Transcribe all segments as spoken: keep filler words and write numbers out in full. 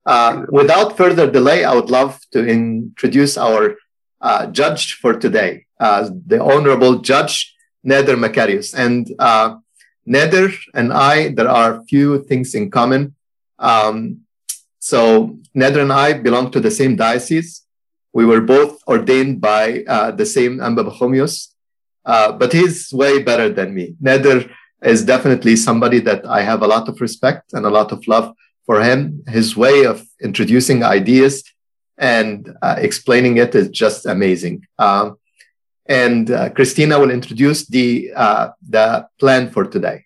Uh, without further delay, I would love to introduce our uh, judge for today, uh, the Honorable Judge Nader Makarios. And uh, Nader and I, there are few things in common. Um, so Nader and I belong to the same diocese. We were both ordained by uh, the same Anba Pachomios, uh, but he's way better than me. Nader is definitely somebody that I have a lot of respect and a lot of love for him. His way of introducing ideas and uh, explaining it is just amazing. Um, and uh, Christina will introduce the, uh, the plan for today.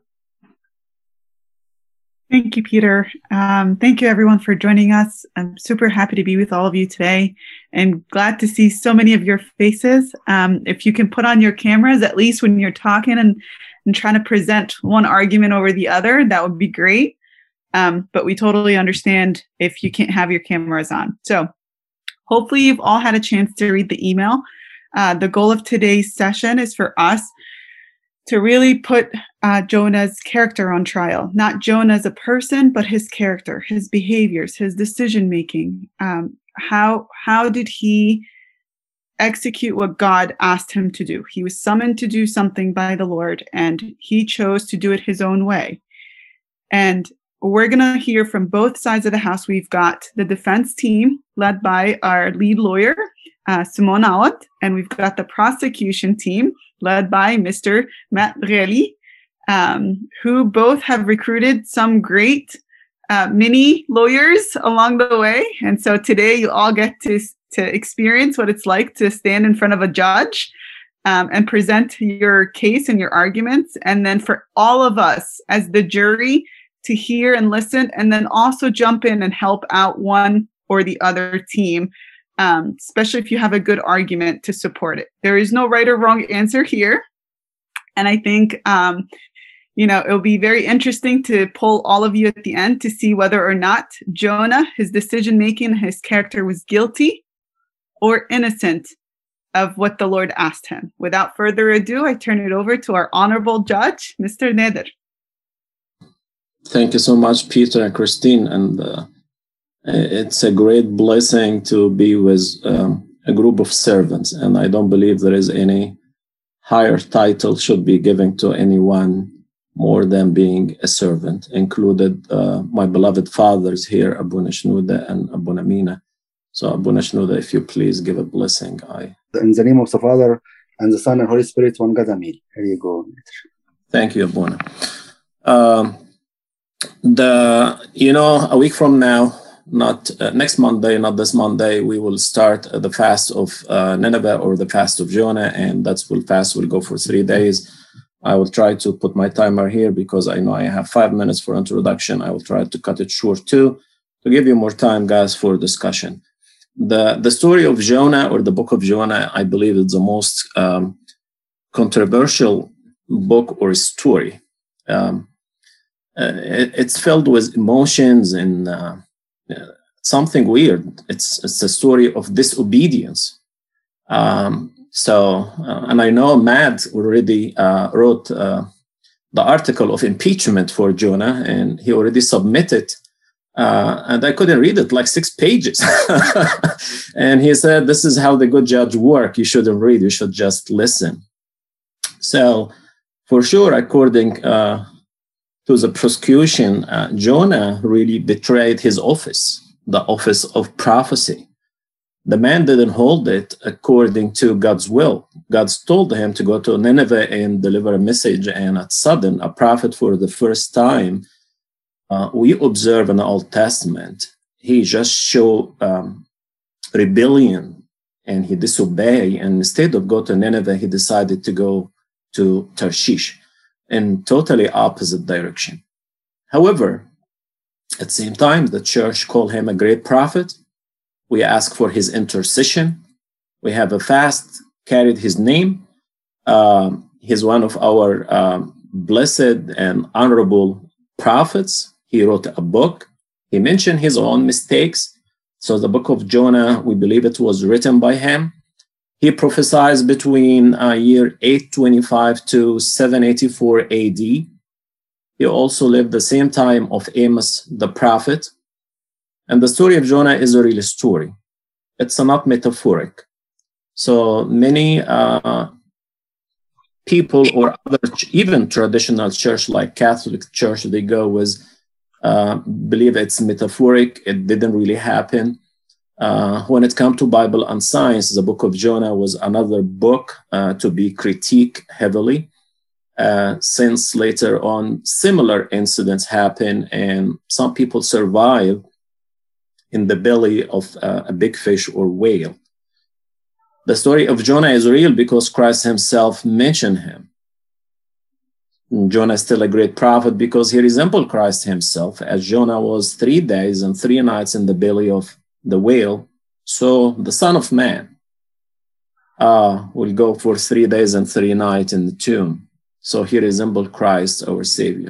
Thank you, Peter. Um, thank you, everyone, for joining us. I'm super happy to be with all of you today and glad to see so many of your faces. Um, if you can put on your cameras, at least when you're talking and, and trying to present one argument over the other, that would be great. Um, but we totally understand if you can't have your cameras on. So hopefully you've all had a chance to read the email. Uh, the goal of today's session is for us to really put uh, Jonah's character on trial, not Jonah as a person, but his character, his behaviors, his decision-making. Um, how, how did he execute what God asked him to do? He was summoned to do something by the Lord, and he chose to do it his own way. And we're going to hear from both sides of the house. We've got the defense team led by our lead lawyer, uh, Simon Awad, and we've got the prosecution team led by Mister Matt Breli, um, who both have recruited some great uh, mini lawyers along the way. And so today you all get to, to experience what it's like to stand in front of a judge um, and present your case and your arguments. And then for all of us as the jury to hear and listen, and then also jump in and help out one or the other team, um, especially if you have a good argument to support it. There is no right or wrong answer here. And I think, um, you know, it'll be very interesting to poll all of you at the end to see whether or not Jonah, his decision-making, his character was guilty or innocent of what the Lord asked him. Without further ado, I turn it over to our honorable judge, Mister Nader. Thank you so much, Peter and Christine. And uh, it's a great blessing to be with um, a group of servants. And I don't believe there is any higher title should be given to anyone more than being a servant, included uh, my beloved fathers here, Abuna Shnuda and Abuna Mina. So Abuna Shnuda, if you please give a blessing. I. In the name of the Father, and the Son, and Holy Spirit, one God, Amen. Here you go. Thank you, Abuna. Um, The, you know, a week from now, not uh, next Monday, not this Monday, we will start uh, the fast of uh, Nineveh or the fast of Jonah, and that's will fast will go for three days. I will try to put my timer here because I know I have five minutes for introduction. I will try to cut it short too, to give you more time, guys, for discussion. The, the story of Jonah or the book of Jonah, I believe is the most um, controversial book or story. Um, Uh, it, it's filled with emotions and uh, uh, something weird. It's it's a story of disobedience. Um, so, uh, and I know Matt already uh, wrote uh, the article of impeachment for Jonah, and he already submitted. Uh, and I couldn't read it, like six pages. And he said, "This is how the good judge work. You shouldn't read. You should just listen." So, for sure, according uh, to the prosecution, uh, Jonah really betrayed his office, the office of prophecy. The man didn't hold it according to God's will. God told him to go to Nineveh and deliver a message, and at sudden, a prophet for the first time, uh, we observe in the Old Testament, he just showed um, rebellion and he disobeyed, and instead of go to Nineveh, he decided to go to Tarshish in totally opposite direction. However, at the same time, the church called him a great prophet. We ask for his intercession. We have a fast, carried his name. Um, he's one of our um, blessed and honorable prophets. He wrote a book. He mentioned his own mistakes. So the book of Jonah, we believe it was written by him. He prophesied between uh, year eight twenty-five to seven eighty-four A D. He also lived the same time of Amos the prophet. And the story of Jonah is a real story. It's not metaphoric. So many uh, people or other, even traditional church like Catholic Church, they go with, uh, believe it's metaphoric, it didn't really happen. Uh, when it comes to Bible and science, the book of Jonah was another book uh, to be critiqued heavily, uh, since later on similar incidents happen and some people survive in the belly of uh, a big fish or whale. The story of Jonah is real because Christ himself mentioned him. Jonah is still a great prophet because he resembled Christ himself, as Jonah was three days and three nights in the belly of the whale. So the Son of Man uh, will go for three days and three nights in the tomb. So he resembled Christ, our Savior.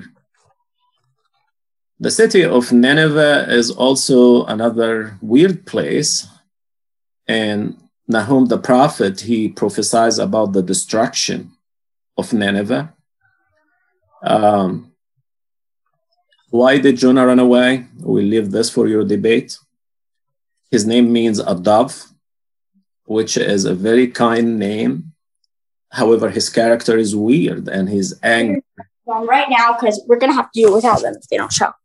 The city of Nineveh is also another weird place. And Nahum the prophet, he prophesies about the destruction of Nineveh. Um, why did Jonah run away? We'll leave this for your debate. His name means a dove, which is a very kind name. However, his character is weird and his anger. Well, right now, because we're going to have to do it without them if they don't show.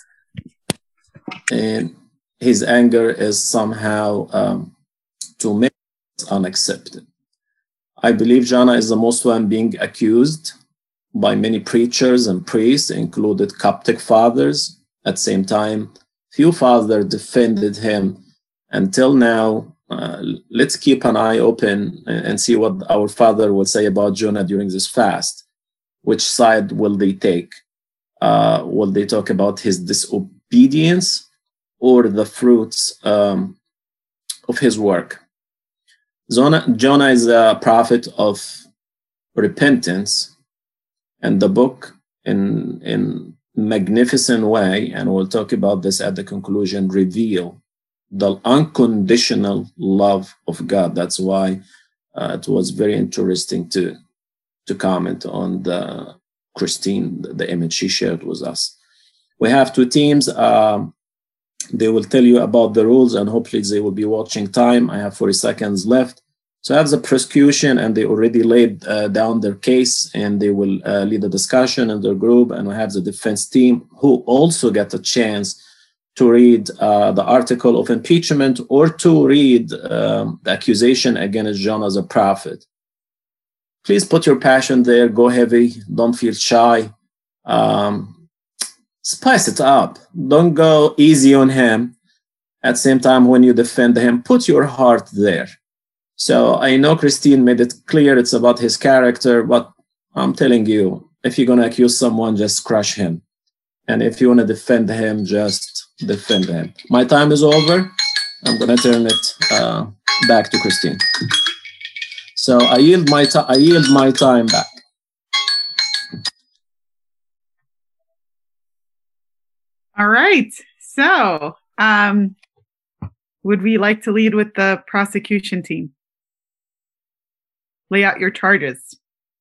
And his anger is somehow um, to make it unaccepted. I believe Jonah is the most one being accused by many preachers and priests, included Coptic fathers. At the same time, few fathers defended him. Until now, uh, let's keep an eye open and see what our father will say about Jonah during this fast. Which side will they take? Uh, will they talk about his disobedience or the fruits um, of his work? Jonah, Jonah is a prophet of repentance, and the book in in magnificent way, and we'll talk about this at the conclusion, reveal the unconditional love of God. That's why uh, it was very interesting to to comment on the Christine, the image she shared with us. We have two teams. Um, they will tell you about the rules, and hopefully they will be watching time. I have forty seconds left. So I have the prosecution, and they already laid uh, down their case, and they will uh, lead the discussion in their group. And we have the defense team, who also get a chance to read uh, the article of impeachment or to read um, the accusation against Jonah as a prophet. Please put your passion there. Go heavy. Don't feel shy. Um, spice it up. Don't go easy on him. At the same time, when you defend him, put your heart there. So I know Christine made it clear it's about his character, but I'm telling you, if you're going to accuse someone, just crush him. And if you want to defend him, just defend him. My time is over. I'm going to turn it uh, back to Christine. So I yield my time. I yield my time back. All right. So, um, would we like to lead with the prosecution team? Lay out your charges.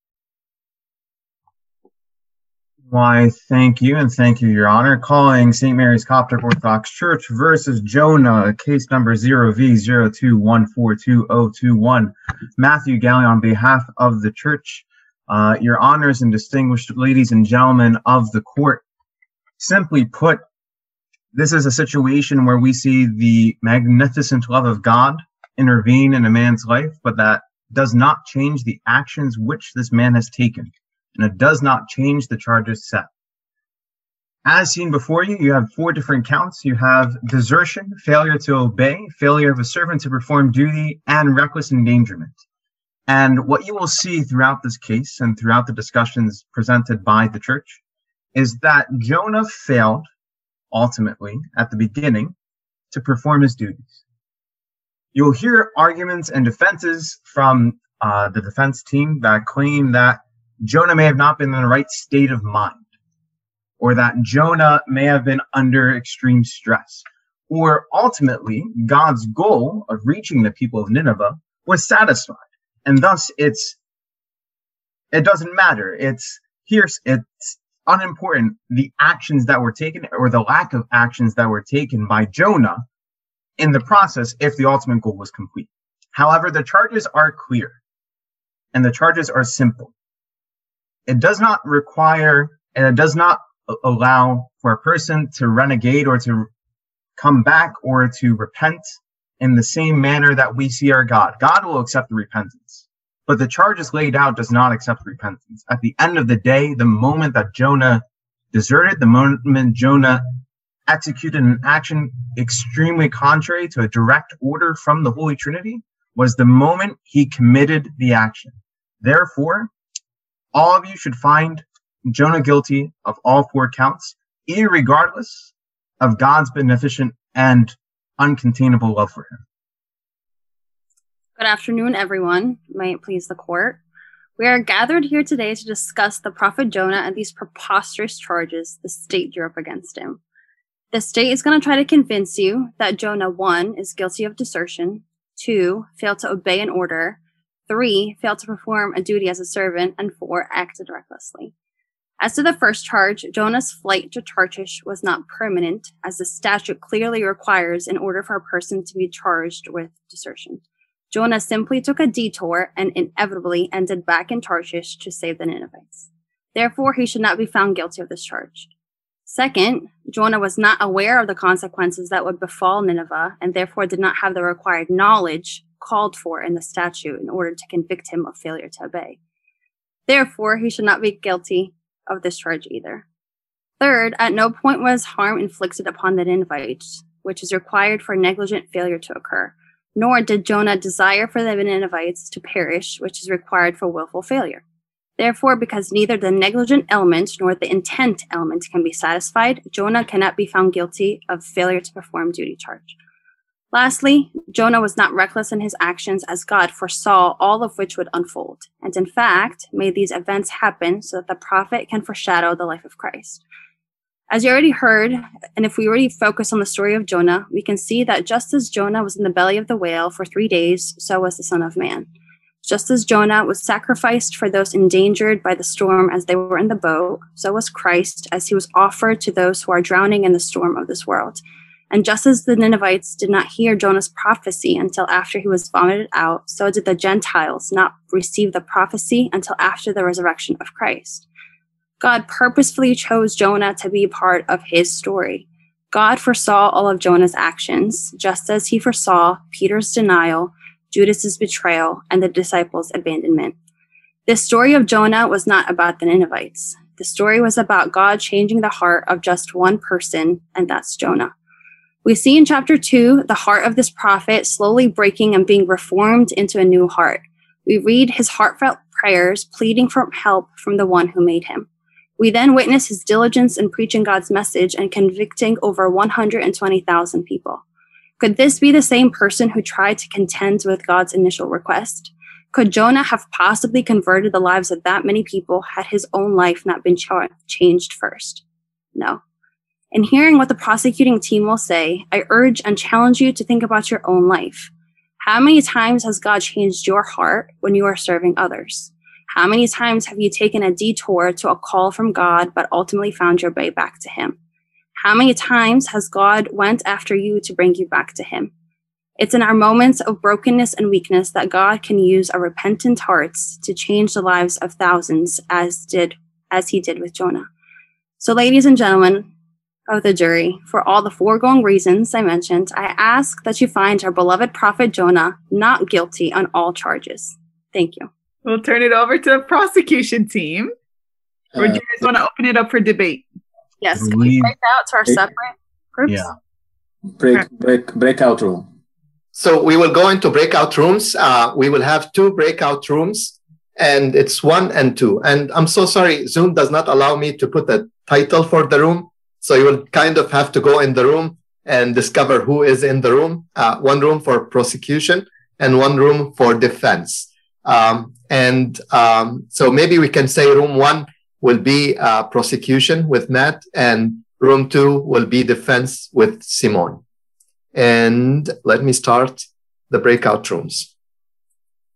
Why, thank you, and thank you, Your Honor. Calling Saint Mary's Coptic Orthodox Church versus Jonah, case number zero V zero two one four two zero two one. Matthew Galley on behalf of the church. Uh, Your Honors and distinguished ladies and gentlemen of the court. Simply put, this is a situation where we see the magnificent love of God intervene in a man's life, but that does not change the actions which this man has taken. And it does not change the charges set. As seen before you, you have four different counts. You have desertion, failure to obey, failure of a servant to perform duty, and reckless endangerment. And what you will see throughout this case and throughout the discussions presented by the church is that Jonah failed, ultimately, at the beginning, to perform his duties. You'll hear arguments and defenses from uh, the defense team that claim that Jonah may have not been in the right state of mind, or that Jonah may have been under extreme stress, or ultimately God's goal of reaching the people of Nineveh was satisfied, and thus it's it doesn't matter. It's here's it's unimportant the actions that were taken or the lack of actions that were taken by Jonah in the process if the ultimate goal was complete. However, the charges are clear and the charges are simple. It does not require and it does not allow for a person to renegade or to come back or to repent in the same manner that we see our God. God will accept the repentance, but the charges laid out does not accept repentance. At the end of the day, the moment that Jonah deserted, the moment Jonah executed an action extremely contrary to a direct order from the Holy Trinity, was the moment he committed the action. Therefore, all of you should find Jonah guilty of all four counts, irregardless of God's beneficent and uncontainable love for him. Good afternoon, everyone. May it please the court. We are gathered here today to discuss the prophet Jonah and these preposterous charges the state drew up against him. The state is going to try to convince you that Jonah, one, is guilty of desertion, two, failed to obey an order, three, failed to perform a duty as a servant, and four, acted recklessly. As to the first charge, Jonah's flight to Tarshish was not permanent, as the statute clearly requires in order for a person to be charged with desertion. Jonah simply took a detour and inevitably ended back in Tarshish to save the Ninevites. Therefore, he should not be found guilty of this charge. Second, Jonah was not aware of the consequences that would befall Nineveh and therefore did not have the required knowledge called for in the statute in order to convict him of failure to obey. Therefore, he should not be guilty of this charge either. Third, at no point was harm inflicted upon the Ninevites, which is required for negligent failure to occur, nor did Jonah desire for the Ninevites to perish, which is required for willful failure. Therefore, because neither the negligent element nor the intent element can be satisfied, Jonah cannot be found guilty of failure to perform duty charge. Lastly, Jonah was not reckless in his actions as God foresaw all of which would unfold, and in fact, made these events happen so that the prophet can foreshadow the life of Christ. As you already heard, and if we already focus on the story of Jonah, we can see that just as Jonah was in the belly of the whale for three days, so was the Son of Man. Just as Jonah was sacrificed for those endangered by the storm as they were in the boat, so was Christ as he was offered to those who are drowning in the storm of this world. And just as the Ninevites did not hear Jonah's prophecy until after he was vomited out, so did the Gentiles not receive the prophecy until after the resurrection of Christ. God purposefully chose Jonah to be part of his story. God foresaw all of Jonah's actions, just as he foresaw Peter's denial, Judas's betrayal, and the disciples' abandonment. This story of Jonah was not about the Ninevites. The story was about God changing the heart of just one person, and that's Jonah. We see in chapter two, the heart of this prophet slowly breaking and being reformed into a new heart. We read his heartfelt prayers pleading for help from the one who made him. We then witness his diligence in preaching God's message and convicting over one hundred twenty thousand people. Could this be the same person who tried to contend with God's initial request? Could Jonah have possibly converted the lives of that many people had his own life not been ch- changed first? No. In hearing what the prosecuting team will say, I urge and challenge you to think about your own life. How many times has God changed your heart when you are serving others? How many times have you taken a detour to a call from God but ultimately found your way back to him? How many times has God went after you to bring you back to him? It's in our moments of brokenness and weakness that God can use our repentant hearts to change the lives of thousands as did as he did with Jonah. So ladies and gentlemen of the jury, for all the foregoing reasons I mentioned, I ask that you find our beloved prophet Jonah not guilty on all charges. Thank you. We'll turn it over to the prosecution team. Or do you guys want to open it up for debate? Yes, can we break out to our separate groups? Yeah. Break, break, breakout room. So we will go into breakout rooms. Uh, we will have two breakout rooms, and it's one and two. And I'm so sorry, Zoom does not allow me to put a title for the room. So you will kind of have to go in the room and discover who is in the room. Uh, one room for prosecution and one room for defense. Um, and um, so maybe we can say room one will be uh, prosecution with Matt, and room two will be defense with Simone. And let me start the breakout rooms.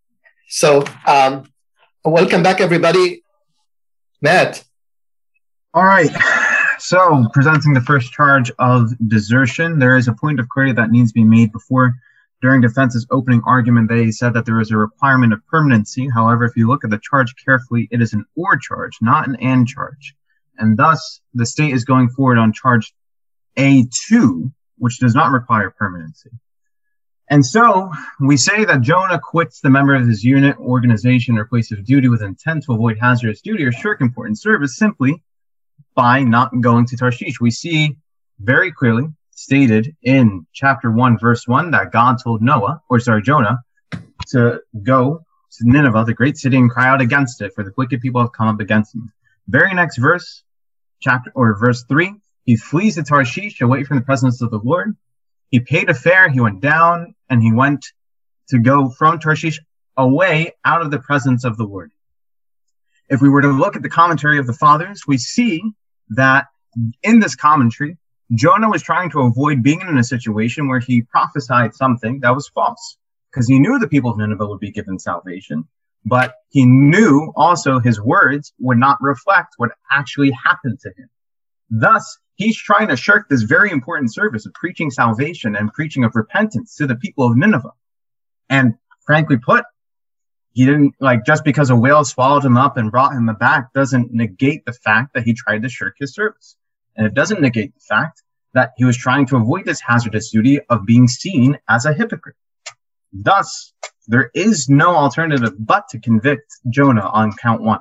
So um, welcome back, everybody. Matt, All right. So, presenting the first charge of desertion, there is a point of query that needs to be made before. During defense's opening argument, they said that there is a requirement of permanency. However, if you look at the charge carefully, it is an or charge, not an and charge. And thus, the state is going forward on charge A two, which does not require permanency. And so, we say that Jonah quits the member of his unit, organization, or place of duty with intent to avoid hazardous duty or shirk important service simply by not going to Tarshish. We see very clearly stated in chapter one, verse one, that God told Noah, or sorry, Jonah, to go to Nineveh, the great city, and cry out against it, for the wicked people have come up against him. Very next verse, chapter or verse three, he flees to Tarshish away from the presence of the Lord. He paid a fare, he went down, and he went to go from Tarshish away out of the presence of the Lord. If we were to look at the commentary of the fathers, we see that in this commentary, Jonah was trying to avoid being in a situation where he prophesied something that was false, because he knew the people of Nineveh would be given salvation, but he knew also his words would not reflect what actually happened to him. Thus, he's trying to shirk this very important service of preaching salvation and preaching of repentance to the people of Nineveh. And frankly put, he didn't, like, just because a whale swallowed him up and brought him back doesn't negate the fact that he tried to shirk his service. And it doesn't negate the fact that he was trying to avoid this hazardous duty of being seen as a hypocrite. Thus, there is no alternative but to convict Jonah on count one.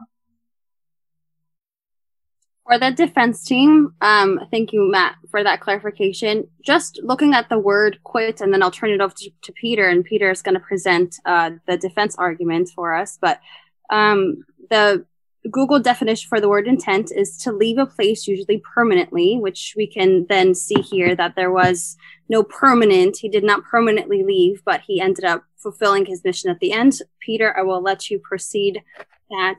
For the defense team, um, thank you, Matt, for that clarification. Just looking at the word quit, and then I'll turn it over to, to Peter, and Peter is going to present uh, the defense argument for us. But um, the Google definition for the word intent is to leave a place, usually permanently, which we can then see here that there was no permanent. He did not permanently leave, but he ended up fulfilling his mission at the end. Peter, I will let you proceed that.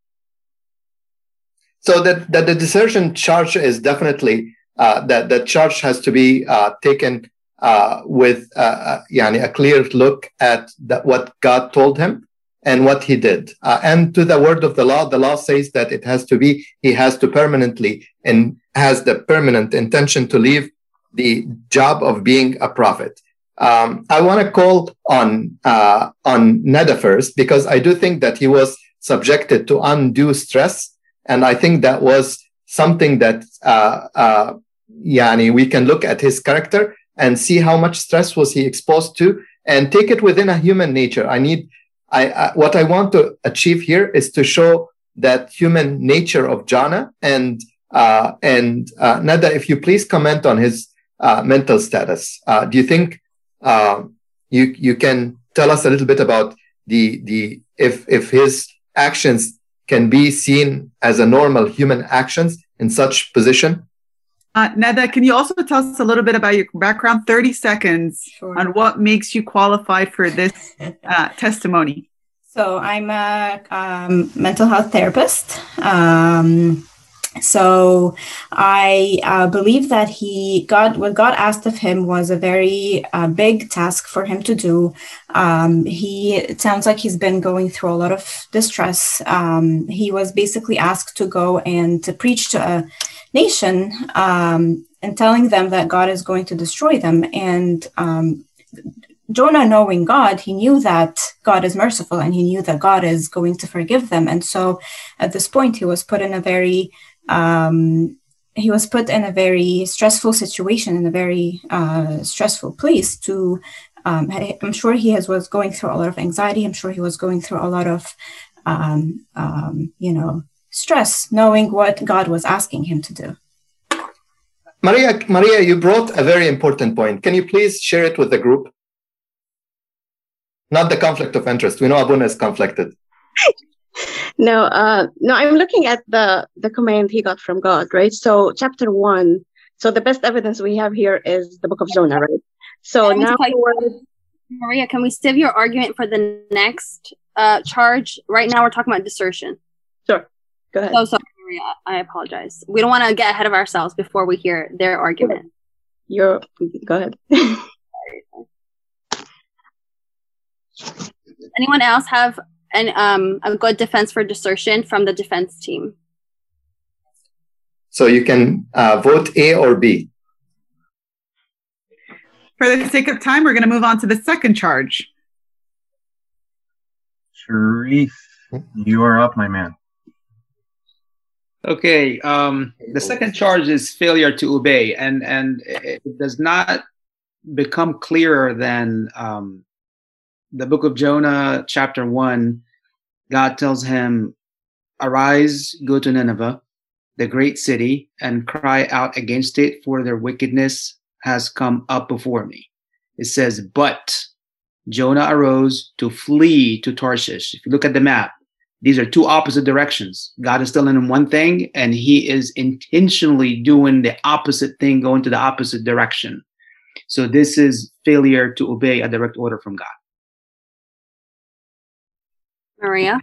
So that, that the desertion charge is definitely, uh, that the charge has to be uh, taken uh, with uh, yani a clear look at that, what God told him and what he did. Uh, and to the word of the law, the law says that it has to be, he has to permanently and has the permanent intention to leave the job of being a prophet. Um, I want to call on, uh, on Neda first, because I do think that he was subjected to undue stress. And I think that was something that, uh, uh, yani, we can look at his character and see how much stress was he exposed to and take it within a human nature. I need, I, I what I want to achieve here is to show that human nature of Jonah. And, uh, and, uh, Neda, if you please comment on his, uh, mental status. Uh, do you think, uh, you, you can tell us a little bit about the, the, if, if his actions can be seen as a normal human actions in such position? Uh, Neda, can you also tell us a little bit about your background, thirty seconds, Sure. on what makes you qualified for this uh, testimony? So I'm a um, mental health therapist. Um, so I uh, believe that he, God, what God asked of him was a very uh, big task for him to do. Um, he, it sounds like he's been going through a lot of distress. Um, he was basically asked to go and to preach to a nation um, and telling them that God is going to destroy them. And um, Jonah, knowing God, he knew that God is merciful and he knew that God is going to forgive them. And so at this point, he was put in a very Um, he was put in a very stressful situation, in a very uh, stressful place to, um, I'm sure he has, was going through a lot of anxiety. I'm sure he was going through a lot of, um, um, you know, stress, knowing what God was asking him to do. Maria, Maria, you brought a very important point. Can you please share it with the group? Not the conflict of interest. We know Abuna is conflicted. No, uh, no, I'm looking at the, the command he got from God, right? So chapter one, so the best evidence we have here is the book of Jonah, right? So Can we now, tell you- Maria, can we save your argument for the next uh, charge? Right now we're talking about desertion. sure, go ahead. So sorry, Maria, I apologize. We don't want to get ahead of ourselves before we hear their argument. You're, go ahead. Anyone else have an, um, a good defense for desertion from the defense team? So you can uh, vote A or B. For the sake of time, we're going to move on to the second charge. Sharif, you are up, my man. Okay, um, the second charge is failure to obey, and, and it does not become clearer than um, the book of Jonah, chapter one. God tells him, arise, go to Nineveh, the great city, and cry out against it, for their wickedness has come up before me. It says, but Jonah arose to flee to Tarshish. If you look at the map, these are two opposite directions. God is telling him one thing, and he is intentionally doing the opposite thing, going to the opposite direction. So this is failure to obey a direct order from God. Maria?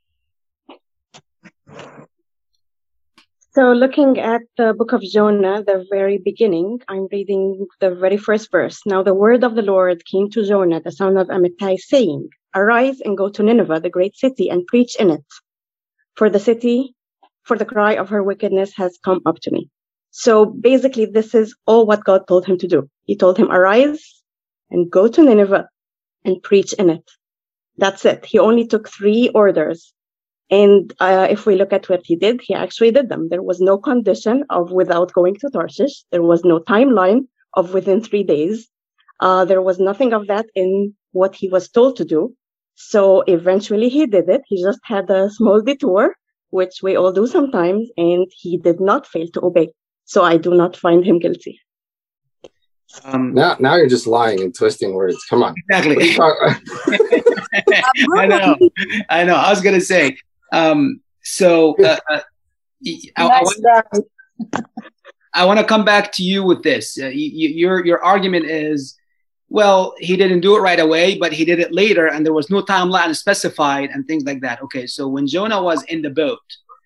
So looking at the book of Jonah, the very beginning, I'm reading the very first verse. Now the word of the Lord came to Jonah, the son of Amittai, saying, arise and go to Nineveh, the great city, and preach in it. For the city, for the cry of her wickedness has come up to me. So basically, this is all what God told him to do. He told him, arise and go to Nineveh and preach in it. That's it. He only took three orders. And uh, if we look at what he did, he actually did them. There was no condition of without going to Tarshish. There was no timeline of within three days. Uh, there was nothing of that in what he was told to do. So eventually he did it. He just had a small detour, which we all do sometimes, and he did not fail to obey. So I do not find him guilty. Um, now, now you're just lying and twisting words. Come on. Exactly. I know. I know. I was going to say, um, so uh, uh, I, I, want, I want to come back to you with this. Uh, you, your, your argument is, well, he didn't do it right away, but he did it later, and there was no timeline specified and things like that. Okay, so when Jonah was in the boat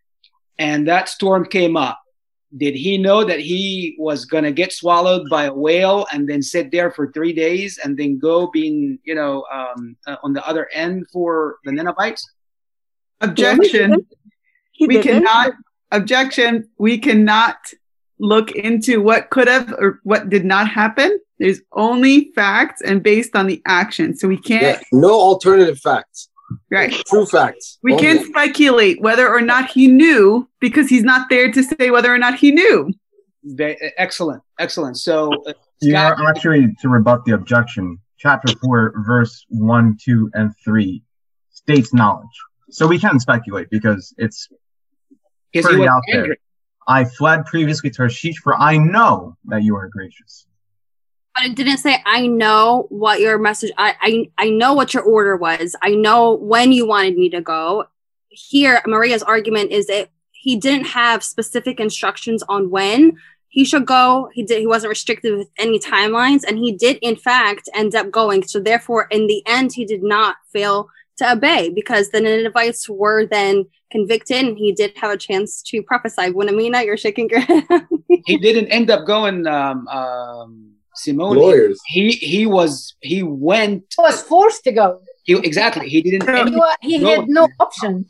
and that storm came up, did he know that he was going to get swallowed by a whale and then sit there for three days and then go being, you know, um, uh, on the other end for the Ninevites? Objection. He we didn't. cannot, objection. We cannot look into what could have or what did not happen. There's only facts and based on the action. So we can't. Yeah, no alternative facts. Right. True facts. We only. can't speculate whether or not he knew because he's not there to say whether or not he knew. Excellent. Excellent. So uh, yeah, Scott, actually, to rebut the objection, chapter four, verse one, two, and three states knowledge. So we can't speculate because it's pretty out angry. there. I fled previously to Tarshish, for I know that you are gracious. But it didn't say, I know what your message, I, I, I know what your order was. I know when you wanted me to go. Here, Maria's argument is that he didn't have specific instructions on when he should go. He did. He wasn't restricted with any timelines, and he did, in fact, end up going. So therefore, in the end, he did not fail to obey because the Ninevites were then convicted, and he did have a chance to prophesy. Winamina, you're shaking your head. He didn't end up going, um, um, Simone. Lawyers. He he was he went. He was forced to go. He exactly. He didn't. He, wa- he had no option.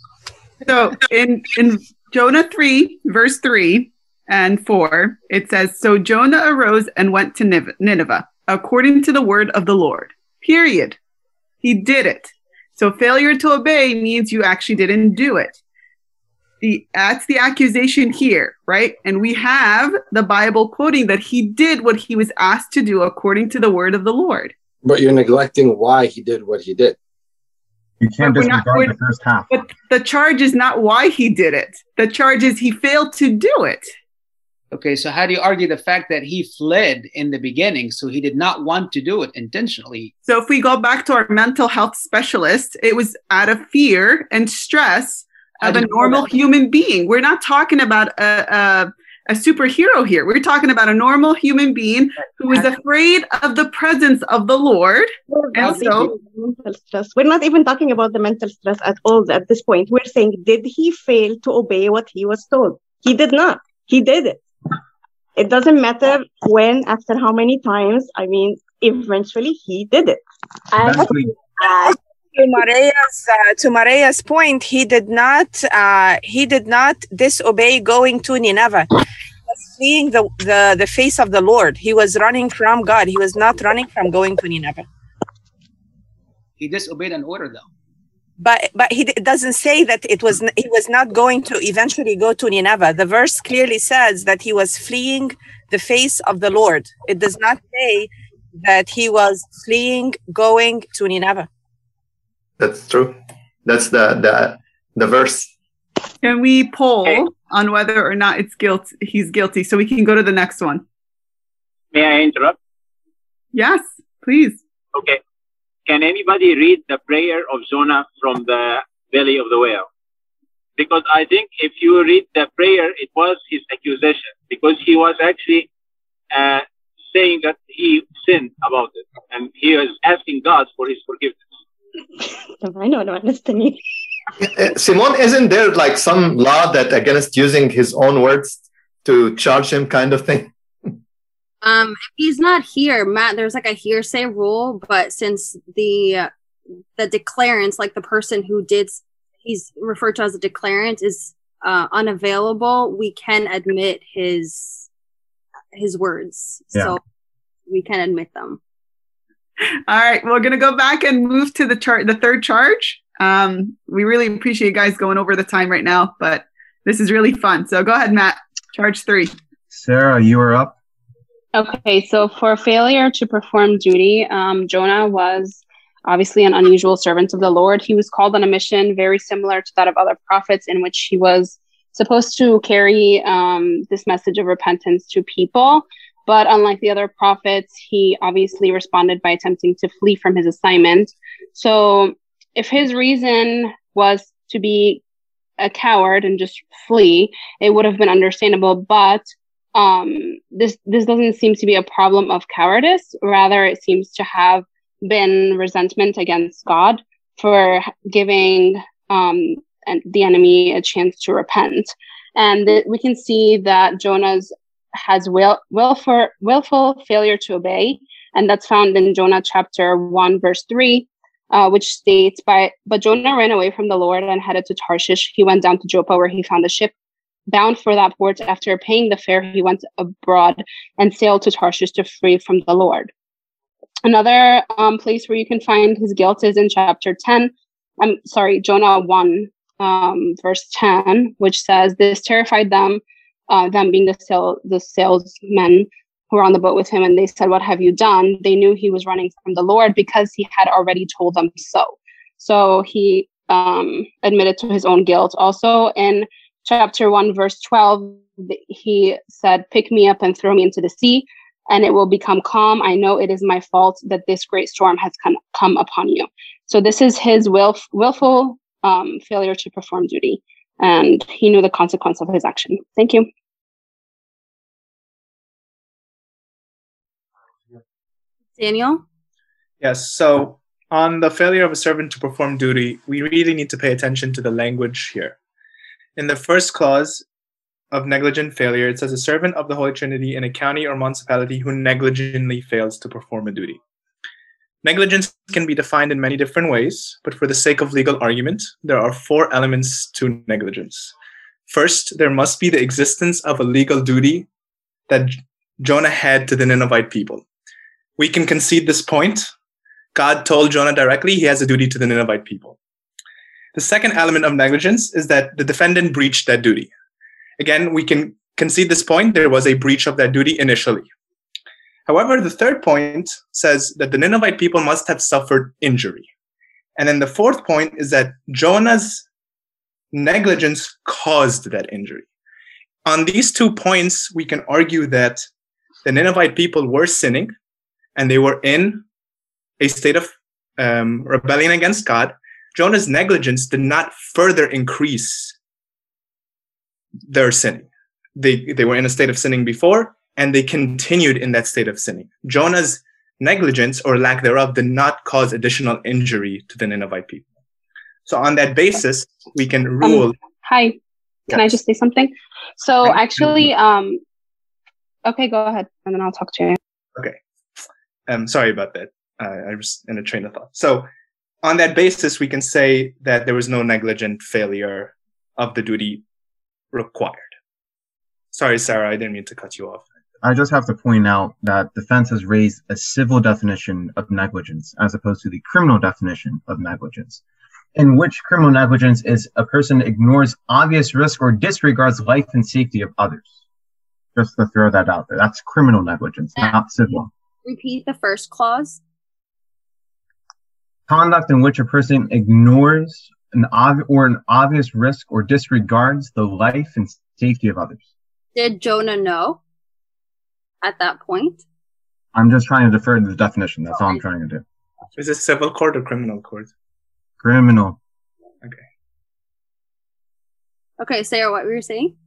So in in Jonah three, verse three and four, it says, "So Jonah arose and went to Nineveh, according to the word of the Lord." Period. He did it. So failure to obey means you actually didn't do it. The, that's the accusation here, right? And we have the Bible quoting that he did what he was asked to do according to the word of the Lord. But you're neglecting why he did what he did. You can't But we're not- disregard we're- the first half. But the charge is not why he did it. The charge is he failed to do it. Okay, so how do you argue the fact that he fled in the beginning, so he did not want to do it intentionally? So if we go back to our mental health specialist, it was out of fear and stress How of do a you know normal that? human being. We're not talking about a, a, a superhero here. We're talking about a normal human being who is afraid of the presence of the Lord. We're And not so- even mental stress. We're not even talking about the mental stress at all at this point. We're saying, did he fail to obey what he was told? He did not. He did it. It doesn't matter when, after how many times. I mean, eventually he did it. And Actually, uh, to Maria's uh, to Maria's point, he did not uh, he did not disobey going to Nineveh. He was fleeing the, the the face of the Lord. He was running from God. He was not running from going to Nineveh. He disobeyed an order, though. But but he it doesn't say that it was he was not going to eventually go to Nineveh. The verse clearly says that he was fleeing the face of the Lord. It does not say that he was fleeing going to Nineveh. That's true. That's the the the verse. Can we poll on whether or not it's guilt? He's guilty, so we can go to the next one. May I interrupt? Yes, please. Okay. Can anybody read the prayer of Jonah from the belly of the whale? Because I think if you read the prayer, it was his accusation, because he was actually uh, saying that he sinned about it, and he was asking God for his forgiveness. I don't understand. Simon, isn't there like some law that against using his own words to charge him, kind of thing? Um, if he's not here, Matt, there's like a hearsay rule, but since the uh, the declarant, like the person who did, he's referred to as a declarant, is uh, unavailable, we can admit his his words. Yeah. So we can admit them. All right, we're going to go back and move to the chart, the third charge. Um, we really appreciate you guys going over the time right now, but this is really fun. So go ahead, Matt. Charge three. Sarah, you are up. Okay, so for failure to perform duty, um, Jonah was obviously an unusual servant of the Lord. He was called on a mission very similar to that of other prophets, in which he was supposed to carry um, this message of repentance to people. But unlike the other prophets, he obviously responded by attempting to flee from his assignment. So if his reason was to be a coward and just flee, it would have been understandable. But um, this this doesn't seem to be a problem of cowardice. Rather, it seems to have been resentment against God for giving um, the enemy a chance to repent. And th- we can see that Jonah's has will, willful, willful failure to obey. And that's found in Jonah chapter one, verse three, uh, which states, by, but Jonah ran away from the Lord and headed to Tarshish. He went down to Joppa, where he found a ship bound for that port. After paying the fare, he went abroad and sailed to Tarshish to flee from the Lord. Another um, place where you can find his guilt is in chapter ten. I'm sorry, Jonah one, um, verse ten, which says, this terrified them, Uh, them being the sale, the salesmen who were on the boat with him, and they said, what have you done? They knew he was running from the Lord because he had already told them so. So he um, admitted to his own guilt. Also in chapter one, verse twelve, he said, pick me up and throw me into the sea, and it will become calm. I know it is my fault that this great storm has come, come upon you. So this is his will, willful um, failure to perform duty. And he knew the consequence of his action. Thank you. Daniel? Yes, so on the failure of a servant to perform duty, we really need to pay attention to the language here. In the first clause of negligent failure, it says a servant of the Holy Trinity in a county or municipality who negligently fails to perform a duty. Negligence can be defined in many different ways, but for the sake of legal argument, there are four elements to negligence. First, there must be the existence of a legal duty that Jonah had to the Ninevite people. We can concede this point. God told Jonah directly he has a duty to the Ninevite people. The second element of negligence is that the defendant breached that duty. Again, we can concede this point. There was a breach of that duty initially. However, the third point says that the Ninevite people must have suffered injury. And then the fourth point is that Jonah's negligence caused that injury. On these two points, we can argue that the Ninevite people were sinning and they were in a state of um, rebellion against God. Jonah's negligence did not further increase their sinning. They, they were in a state of sinning before, and they continued in that state of sinning. Jonah's negligence or lack thereof did not cause additional injury to the Ninevite people. So on that basis, we can rule. Um, hi, can yes. I just say something? So actually, um, okay, go ahead, and then I'll talk to you. Okay. Um, sorry about that. Uh, I was in a train of thought. So on that basis, we can say that there was no negligent failure of the duty required. Sorry, Sarah, I didn't mean to cut you off. I just have to point out that defense has raised a civil definition of negligence as opposed to the criminal definition of negligence, in which criminal negligence is a person ignores obvious risk or disregards life and safety of others. Just to throw that out there. That's criminal negligence, not civil. Repeat the first clause. Conduct in which a person ignores an ob- or an obvious risk or disregards the life and safety of others. Did Jonah know at that point? I'm just trying to defer to the definition. That's all I'm trying to do. Is it civil court or criminal court? Criminal. Okay. Okay, Sarah, what were you saying?